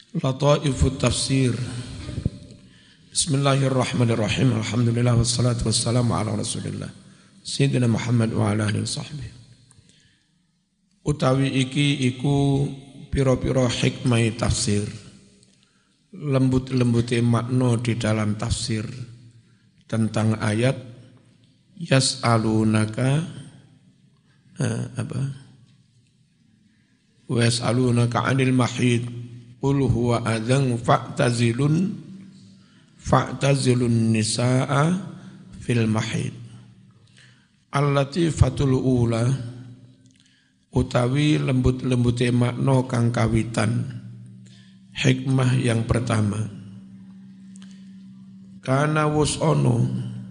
Lataifut Tafsir. Bismillahirrahmanirrahim. Alhamdulillah wassalatu wassalamu ala Rasulillah Sayyidina Muhammad wa ala alihi wasahbihi. Utawi iki iku pira-pira hikmah tafsir. Lembut-lembute makna di dalam tafsir tentang ayat yas'alunaka wa yas'alunaka 'anil mahid qul huwa adzan fa'tazilun nisaa fil mahid. Al-latifatul ula utawi lembut-lembute makna kang kawitan. Hikmah yang pertama, kana wus ono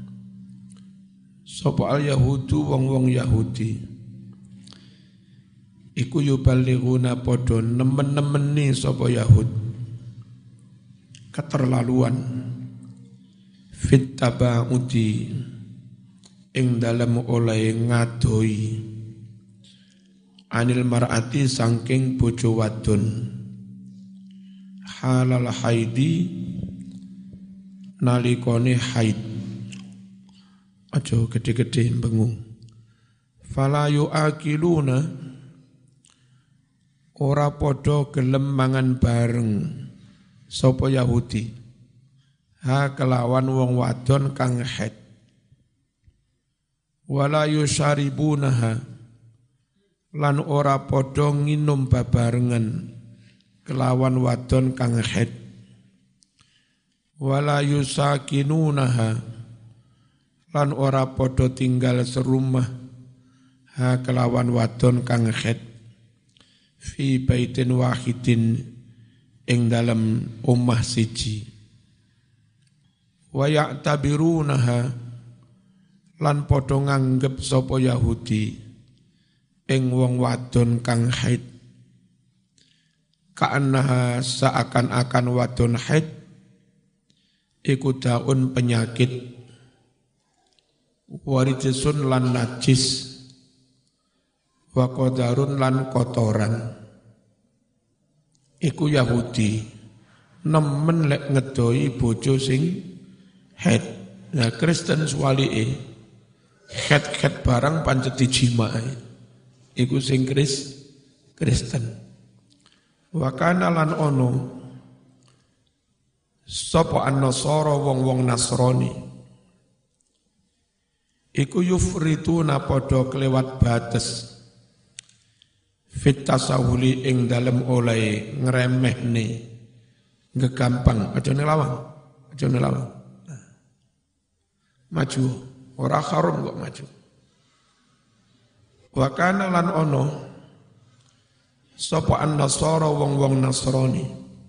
sapa al-yahudu wong-wong Yahudi iku yuballighuna padha nemen-nemeni sapa Yahud keterlaluan fit taba'udi ing dalem oleh ngadoi anil mar'ati saking bojo wadon halal haidi nalikone haid. Aja gede-gede bengung. Fala yu'akiluna ora padha gelem mangan bareng sapa Yahudi ha kelawan wong wadon kang haid. Wala yusyaribunaha lan ora padha nginum babarengan kelawan wadon kang haid. Wala yusakinunaha lan ora padha tinggal serumah ha kelawan wadon kang haid fi baitin wahidin ing dalem omah siji. Wa ya'tabirunaha lan padha nganggep sapa Yahudi ing wong wadon kang haid ka'annaha seakan-akan wadon haid iku daun penyakit warijisun lan najis wa qadarun lan kotoran. Iku Yahudi nemen lek ngedoi bojo sing haid. Nah Kristen swalike haid barang pancet dijimae iku sing Kristen. Wa kana lan ono sapa an-nasara wong-wong Nasrani iku yufrituna padha kelewat bates fit tasawuli ing dalem oleh ngremehne ngegampang aja nelawang maju ora harum kok maju. Wa kana lan ono sapa an-nasara wong-wong Nasrani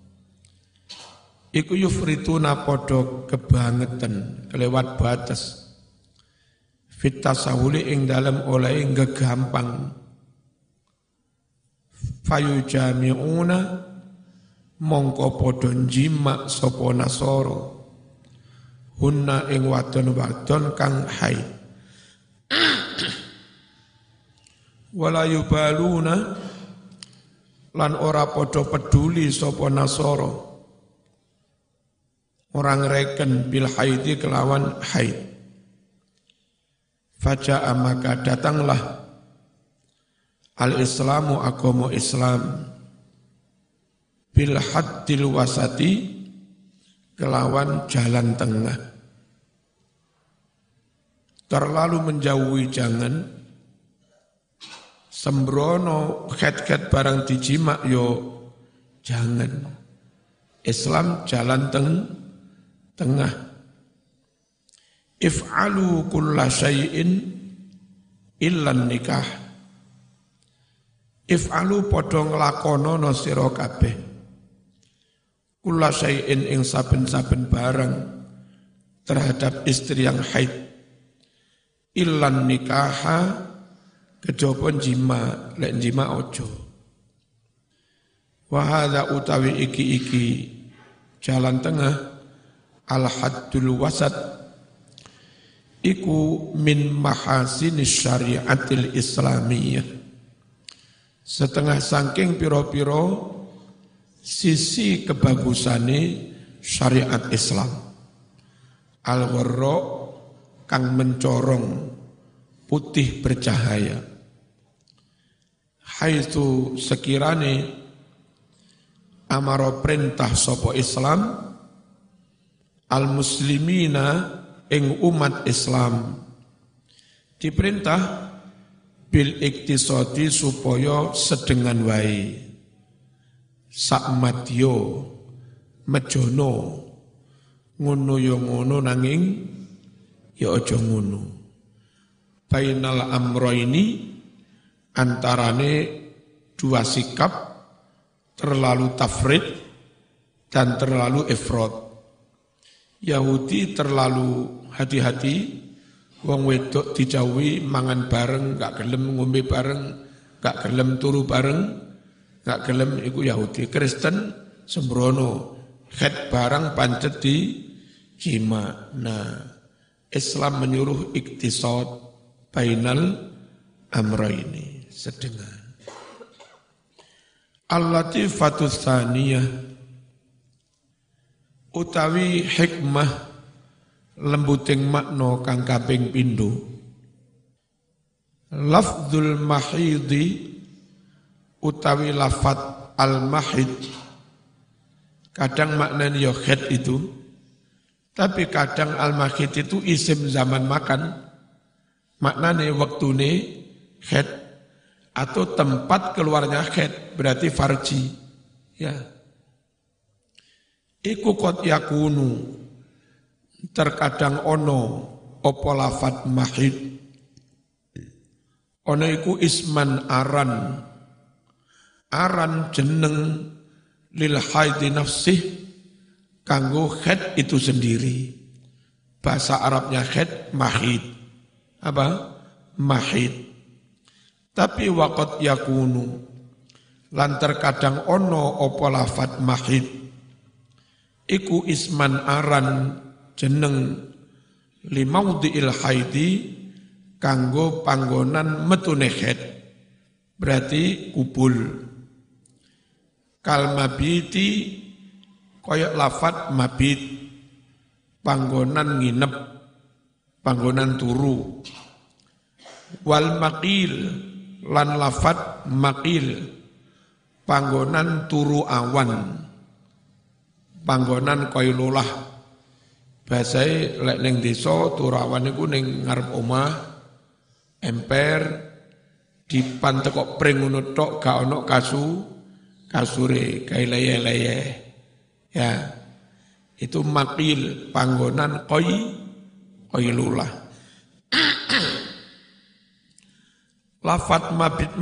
iku yufrituna padha kebangetan kelewat batas fit tasawuli ing dalem oleh gegampang fayujami'una mongko padha jima sapa nasara hunna ing wadon-wadon kang haid wala yubaluna lan ora padha peduli sapa nasara orang reken bil haidi kelawan haid. Faja'a maka datanglah al-islamu agama Islam bil haddil wasati kelawan jalan tengah. Terlalu menjauhi jangan sembrono khet-khet barang dijima yo jangan. Islam jalan tengah. If'alu kulla syai'in illan nikah. If'alu padha nglakonono sira kabeh kulla syai'in ing saben-saben barang terhadap istri yang haid illan nikaha kejaba jima lek jima ojo. Wa hadza utawi iki jalan tengah al haddul wasat iku min mahasinis syariatil islamiyah setengah saking piro-piro sisi kebagusane syariat Islam. Al-gharra kang mencorong putih bercahaya. Haitsu sekirane amaro perintah sapa Islam al-muslimina ing umat Islam diperintah bil iktisadi supaya sedengan wae sak madya mejono ngono ya ngono nanging ya aja ngono bainal amraini antarane dua sikap terlalu tafrid dan terlalu ifrad. Yahudi terlalu hati-hati, wong wedok dijauhi mangan bareng, gak gelem ngombe bareng, gak gelem turu bareng, gak gelem iku Yahudi. Kristen sembrono, khed barang pancet di jima. Nah, Islam menyuruh iktisad bainal amraini, sedengan. Al-latifatus tsaniyah utawi hikmah lembuting makna kang kaping pindho. Lafdzul mahidi utawi lafat al-mahid kadang maknanya ya khed itu, tapi kadang al-mahid itu isim zaman makan, maknanya waktune khed atau tempat keluarnya khed, berarti farji. Ya. Iku qad yakunu terkadang ono apa lafat mahid. Ono iku isman aran. Aran jeneng lil haidi nafsih kanggo khed itu sendiri. Bahasa Arabnya khed mahid. Apa? Mahid. Tapi waqad yakunu lan terkadang ono apa lafat mahid iku isman aran jeneng limaudhi'il haidi kanggo panggonan metune khed, berarti kubul. Kal mabiti kaya lafat mabit panggonan nginep, panggonan turu. Wal maqil lan lafat maqil panggonan turu awan, panggonan qailulah. Basae lek ning desa turu awan iku ning ngarep omah emper dipantekok pring ngono tok gak ono kasure gawe leye-leye. Ya. Itu maqil panggonan qailulah. Lafat mabit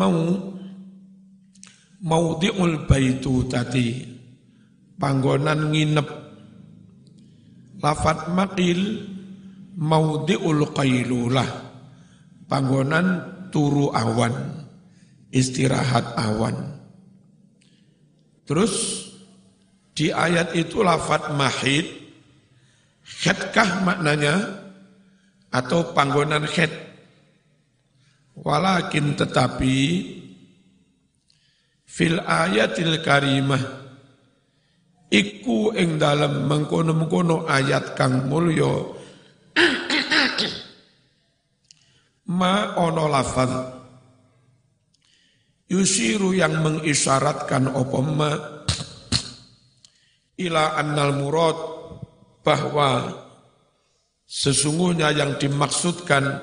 maudhi'ul baitu tadi panggonan nginep. Lafat maqil maudhi'ul qailulah panggonan turu awan, istirahat awan. Terus di ayat itu lafat mahid khedkah maknanya atau panggonan khed? Walakin tetapi fil ayatil karimah iku ing dalem mengkono-mengkono ayat kang mulya ma ono lafaz yusiru yang mengisyaratkan apa ma ila annal murad bahwa sesungguhnya yang dimaksudkan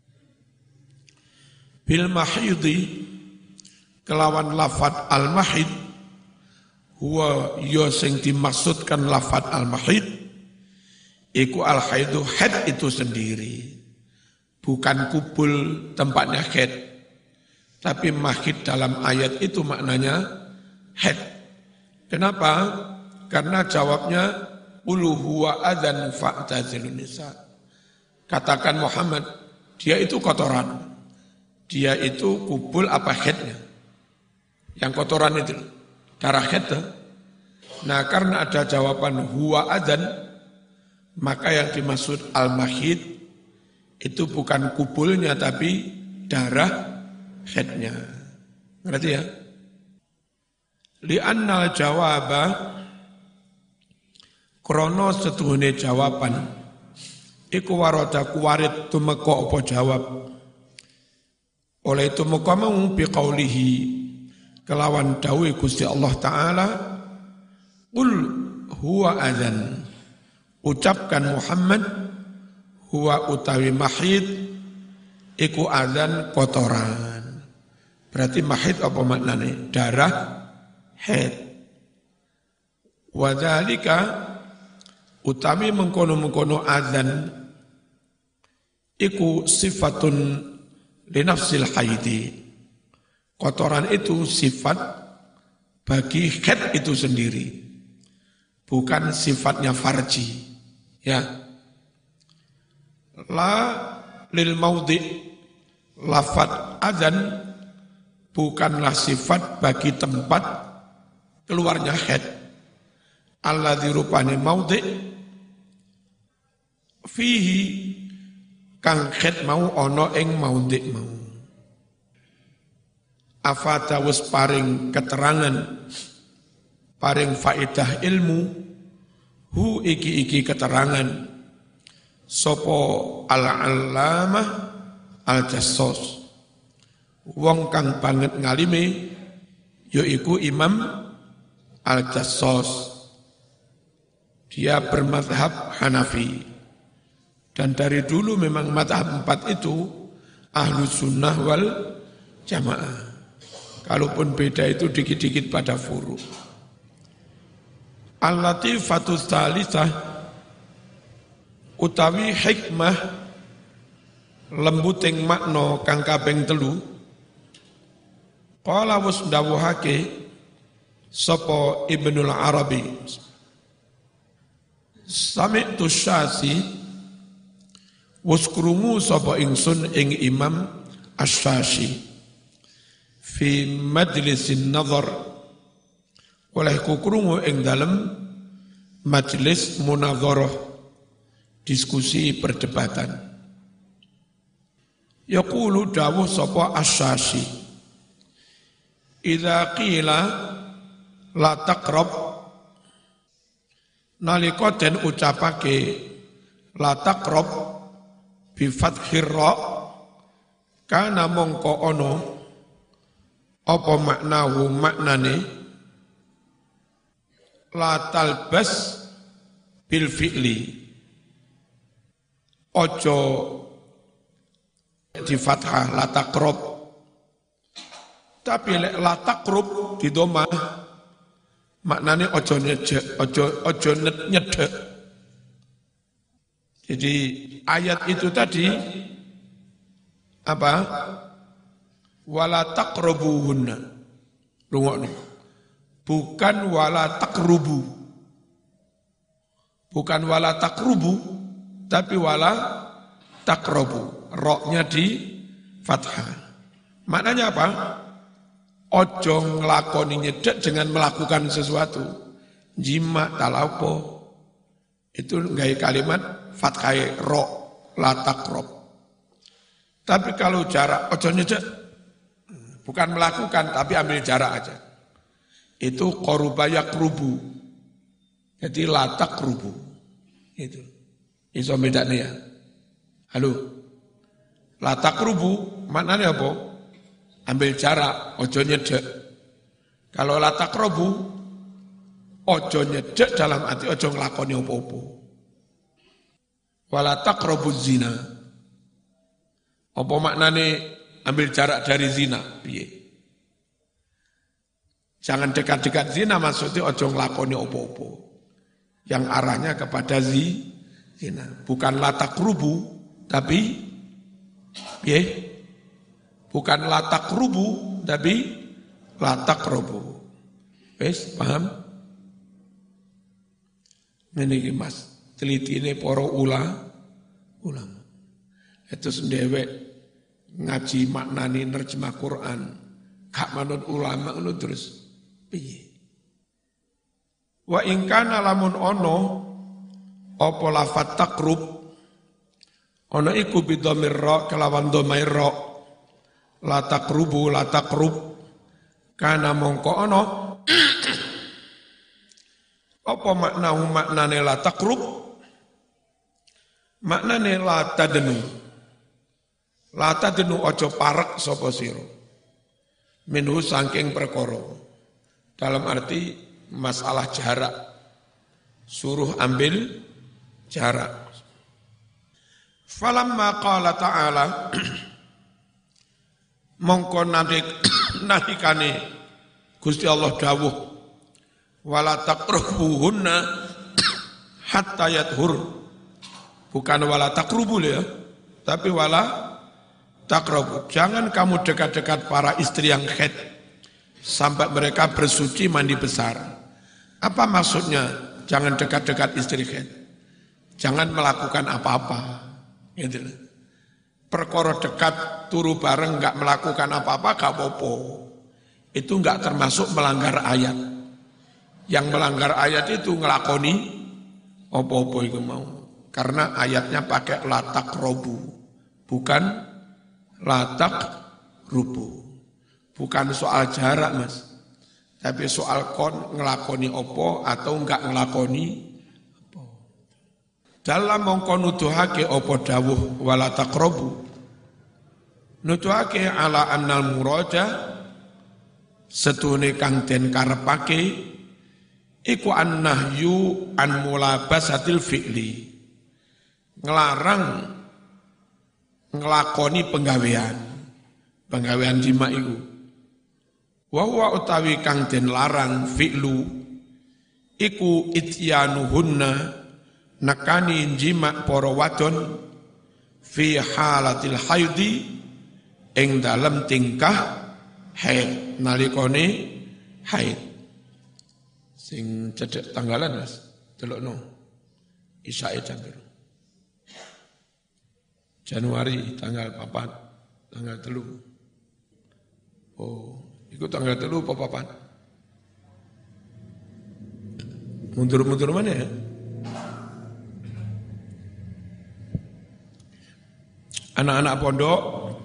bil mahidi kelawan lafat al mahid huwa yo sing dimaksudkan lafat al mahid iku al haidu haid itu sendiri, bukan kubul tempatnya haid, tapi mahid dalam ayat itu maknanya haid. Kenapa? Karena jawabnya ulu huwa adzan fa'tazilun nisa. Katakan Muhammad, dia itu kotoran. Dia itu kubul apa haidnya? Yang kotoran itu, darah haid. Nah karena ada jawaban huwa adzan, maka yang dimaksud al-mahid itu bukan kubulnya tapi darah haidnya. Ngerti ya? Li'annal jawaba krono setuhune jawaban iku warada kuwarit tumeka apa jawab oleh tumeka mau biqaulihi kelawan dawuh Gusti Allah taala qul huwa adzan ucapkan Muhammad huwa utawi mahid iku adzan kotoran berarti mahid apa maknane darah haid wa dzalika utawi mengkono-mengkono adzan iku sifatun li nafsil haidi. Kotoran itu sifat bagi haid itu sendiri. Bukan sifatnya farji. Ya. La lil maudhi lafad adzan bukanlah sifat bagi tempat keluarnya haid. Alladzi rupane maudhi fihi kang khet mau ono ing maudhi mau. Afata wis paring keterangan, paring faedah ilmu, hu iki keterangan, sopo al-allamah al-jassos. Wong kang banget ngalime, yaiku Imam al-Jassos. Dia bermadhab Hanafi. Dan dari dulu memang madhab 4 itu Ahlus Sunnah wal Jamaah. Kalaupun beda itu dikit-dikit pada furu. Al-Latifatus Thalithah utawi hikmah lembuting makna kang kaping 3. Qala wis ndawuhake sapa Ibnul Arabi. Sami'tu Syasi wis krungu sapa ingsun ing Imam Asy-Syafi'i fi majlisin nazar oleh kukrungu ing dalem majelis munadharah diskusi perdebatan yaqulu dawuh sapa Asy-Syafi'i idza qila la taqrab nalika den ucapake la taqrab bi fathir ra kana mongko ono apa maknahu maknane la talbas bil fi'li ojo di fathah la taqrab tapi la taqrub di dhamma maknane ojo nyedek ojo nyedek. Jadi ayat itu tadi apa? Wala taqrabuhunna. Rungokno. Bukan wala taqrubu. Bukan wala taqrubu, tapi wala taqrabu. Roknya di fathah. Maknanya apa? Ojo nglakoni nyedek dengan melakukan sesuatu. Jima talapo. Itu gaya kalimat fathai ro la taqrab. Tapi kalau jarak ojo nyedek bukan melakukan tapi ambil jarak aja. Itu qaruba yaqrubu. Jadi la taqrubu. Itu. Iso bedane ya. Halo. La taqrubu maknanya apa? Ambil jarak, ojo nyedek. Kalau la taqrabu ojo nyedek dalam arti ojo nglakoni apa-apa. Wala taqrabuz zina. Apa maknane ambil jarak dari zina? Piye? Jangan dekat-dekat zina maksudnya ojo nglakoni apa-apa. Yang arahnya kepada zina. Bukan la taqrubu tapi piye? Bukan la taqrubu tapi la taqrabu. Wes paham? Meniki Mas, telitine para ulama. Itu sendewek ngaji maknani nerjemah Quran. Gak manut ulama ngono terus piye? Wa in kana lamun ono apa lafat taqrub ono iku bidhamir ra kelawan dhamair ra la taqrubu la taqrub kana mongko ono Apa maknane la taqrub? Maknane la tadenu. La tadenu ojo parek sapa sira. Minhu saking perkara. Dalam arti masalah jarak. Suruh ambil jarak. Falamma qala ta'ala mongko nalikane Gusti Allah dawuh wala taqrabuhunna hatta yathur. Bukan wala taqrubul ya, tapi wala taqrabu. Jangan kamu dekat-dekat para istri yang haid sampai mereka bersuci mandi besar. Apa maksudnya? Jangan dekat-dekat istri haid. Jangan melakukan apa-apa. Gitu. Perkara dekat turu bareng enggak melakukan apa-apa enggak apa-apa. Itu enggak termasuk melanggar ayat. Yang melanggar ayat itu ngelakoni apa-apa itu mau. Karena ayatnya pakai latak robu, bukan latak rubu. Bukan soal jarak mas, tapi soal kon ngelakoni opo atau enggak ngelakoni opo. Dalam mongko nuduhake opo dawuh wala taqrabu. Nuduhake ala annal muraja setune kang den karepake iku annahyu an mulabasatil fi'li. Ngelarang ngelakoni penggawean jima iku. Wa huwa utawi kang den larang fi'lu iku ityanuhunna nakani jima para wadon fi halatil haidi ing dalem tingkah haid nalikane haid. Sing cedek tanggalan mas, delokno isyae jam piro? Januari tanggal 4, tanggal 3. Oh, iku tanggal 3 apa 4? Mundur-mundur mana ya? Anak-anak pondok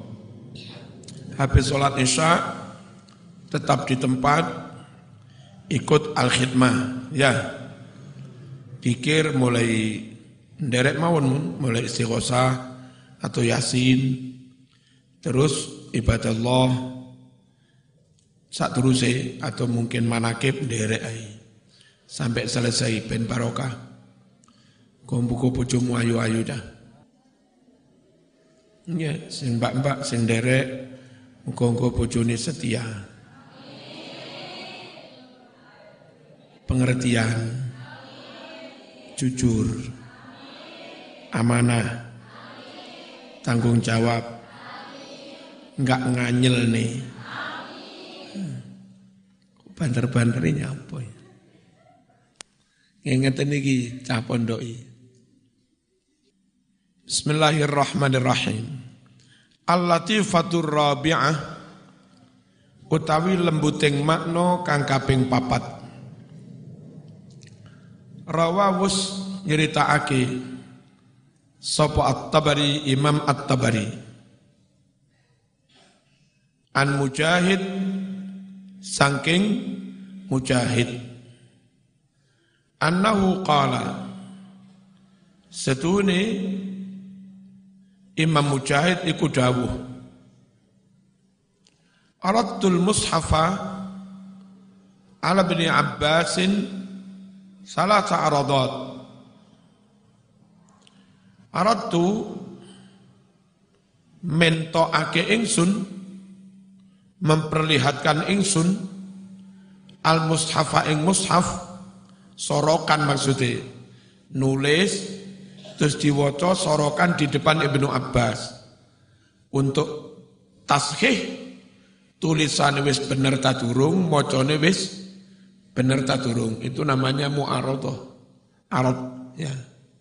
habis sholat isya tetap di tempat ikut al-khidmah, ya. Pikir mulai nderek mawon, mulai istighosah atau yasin, terus ibadah Allah sak teruse atau mungkin manakib nderek ai sampai selesai ben barokah. Kumpuku bojomu ayu-ayu dah. Ya, sing mbak-mbak sing nderek muga-muga bojone setia. Pengertian, jujur, amanah, tanggung jawab, enggak nganyel nih. Banter-banterinya apa ya? Ngeten iki cah pondoki. Bismillahirrahmanirrahim. Al-latifatur rabi'ah utawi lembuting makna kang kaping 4. Rawawus nyeritakake sapa At-Tabari, Imam At-Tabari an Mujahid saking Mujahid annahu qala setune Imam Mujahid iku dawuh aradtul mushafa ala bin Abbasin salasa aradat. Aratu mentokake ingsun, memperlihatkan ingsun al-mushafa ing mushaf, sorokan maksudnya, nulis terus diwaca sorokan di depan Ibnu Abbas untuk tashih tulisan wis bener ta durung, macane wis bener ta durung, itu namanya mu'aradhah. Arad ya.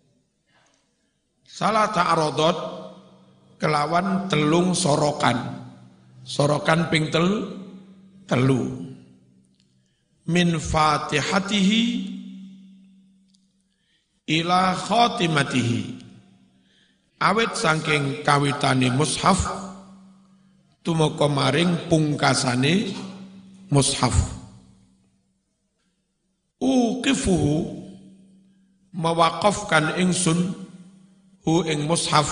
Salah ta'aradhat kelawan telung sorokan. Sorokan ping telu. Min fatihatihi ila khatimatihi. Awit saking kawitane mushaf tumeka maring pungkasane mushaf. uqifuhu mewakafkan ingsun hu ing mushaf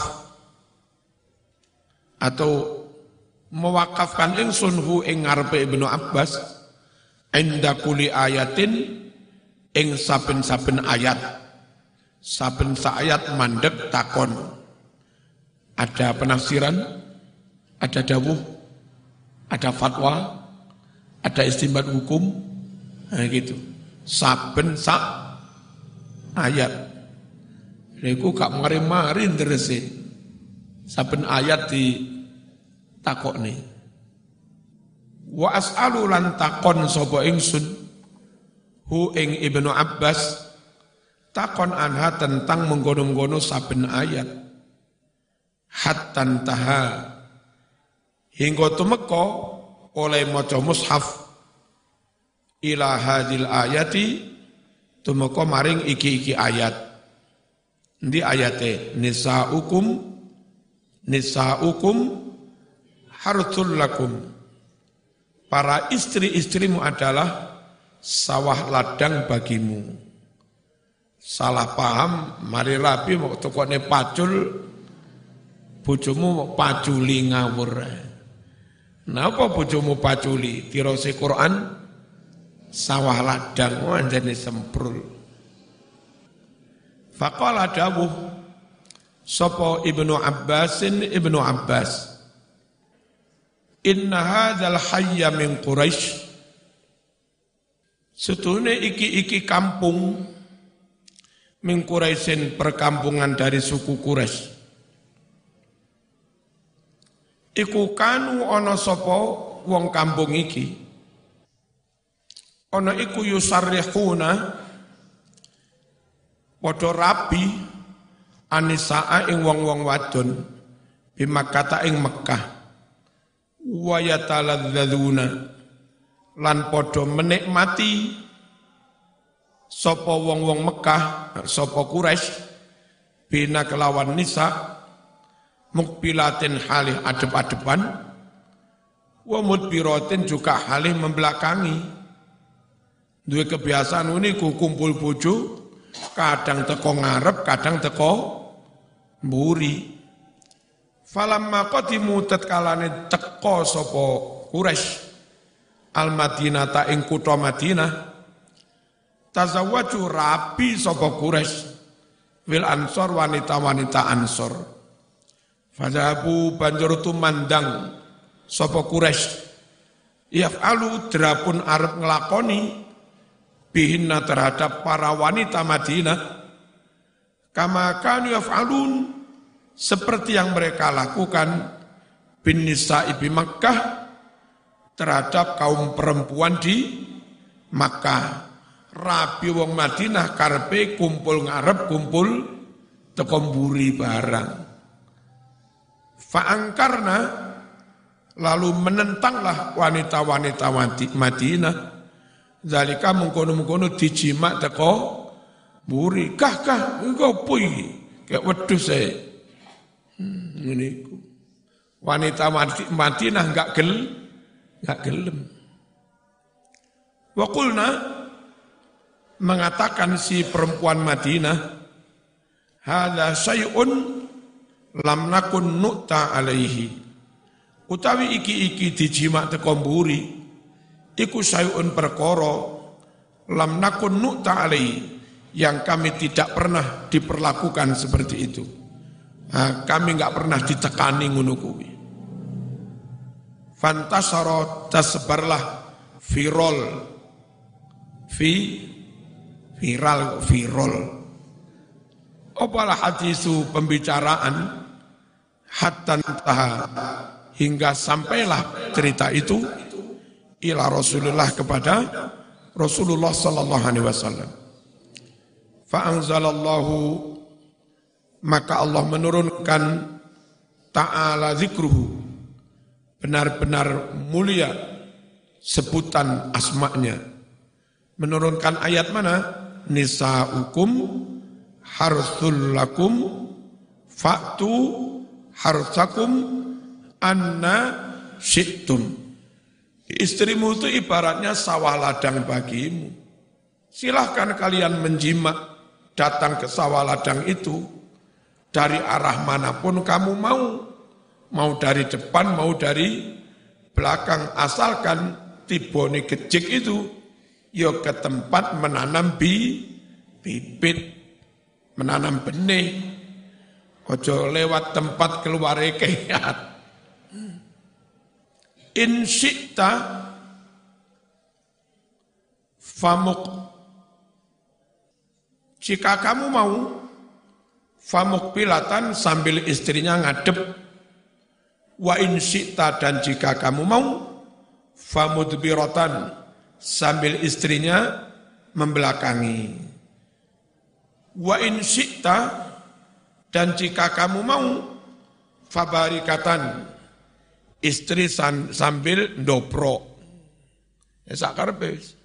atau mewakafkan ingsun hu ing ngarepe Ibnu Abbas inda kuli ayatin ing saben-saben ayat saben ayat mandek takon ada penafsiran ada dawuh ada fatwa ada istinbat hukum gitu saben ayat niku gak mari-mari nderese saben ayat di takokne wa as'alu lan takon sapa ingsun hu ing Ibnu Abbas takon anha tentang menggono-menggono saben ayat hatta taha hingga tumeka oleh maca mushaf ila hadil ayati tumeka maring iki ayat ndi ayate nisaukum harthul lakum para istri-istrimu adalah sawah ladang bagimu salah paham mari rapi mau tokone pacul bojomu mau paculi ngawur napa bojomu paculi tirose Quran sawah ladang anjene semprul faqala dawuh sapa Ibnu Abbas inna hadzal hayya min Quraisy setune iki kampung min Quraisyin perkampungan dari suku Quraisy iku kanu ana sapa wong kampung iki ana iku yusarrihuna padha rabi anisaa ing wong-wong wadon bimakata ing Mekah wa yataladzadzuna lan padha menikmati sapa wong-wong Mekah sapa Quraisy bina kelawan nisa mukbilatin halih adep-adepan wa mudbiratin juga halih membelakangi duwe kebiasaan niku kumpul bojo kadang teko ngarep, kadang teko mburi. Falamma qadimu tatkalane teko sapa Quraisy al-Madinah ta ing kutha Madinah tazawwaju rabi sapa Quraisy wil ansor wanita-wanita ansor. Fadhabu banjur tumandang sapa Quraisy yaf'alu drapun arep nglakoni bihinna terhadap para wanita Madinah kama kanu yaf'alun seperti yang mereka lakukan bin nisa'i bi Makkah terhadap kaum perempuan di Makkah. Rabi wong Madinah karepe kumpul ngarep kumpul teko mburi barang. Fa'angkarna lalu menentanglah wanita-wanita Madinah zalika mengkono-mengkono dijimak teko mburi kah engko opo iki kayak wedhus ae ngene iku wanita Madinah enggak gelem wa qulna mengatakan si perempuan Madinah hadza syai'un lam nakun nu'ta alaihi utawi iki dijimak teko mburi iku syai'un perkara lam nakun nu'ta alaihi yang kami tidak pernah diperlakukan seperti itu. Kami enggak pernah ditekani ngono kuwi. Fantasara tersebarlah viral. Apalah hadisu pembicaraan hatta hingga sampailah cerita itu ila Rasulullah kepada Rasulullah sallallahu alaihi wasallam. Fa anzalallahu maka Allah menurunkan ta'ala zikruhu benar-benar mulia sebutan asma'nya. Menurunkan ayat mana? Nisa'ukum harthul lakum fa'tu harthakum anna syi'tum. Istrimu itu ibaratnya sawah ladang bagimu. silahkan kalian menjimat datang ke sawah ladang itu dari arah manapun kamu mau dari depan, mau dari belakang, asalkan tibone gejik itu ya ke tempat menanam bibit, menanam benih, ojo lewat tempat keluar kehat. In syi'ta famuk, jika kamu mau, famuk pilatan sambil istrinya ngadep, wa in syi'ta dan jika kamu mau, famudbiratan sambil istrinya membelakangi. Wa in syi'ta dan jika kamu mau, fabarikatan istri sambil ndopro. Sakarpe.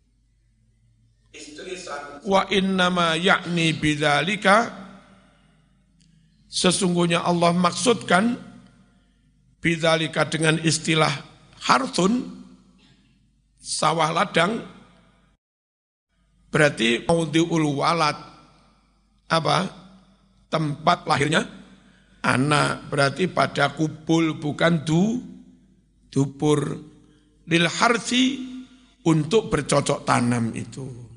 Wa innama yakni bidzalika, sesungguhnya Allah maksudkan bidzalika dengan istilah harthun, sawah ladang, berarti maudhi'ul walad, apa? Tempat lahirnya anak, berarti pada kubul bukan dubur, lil harthi untuk bercocok tanam itu.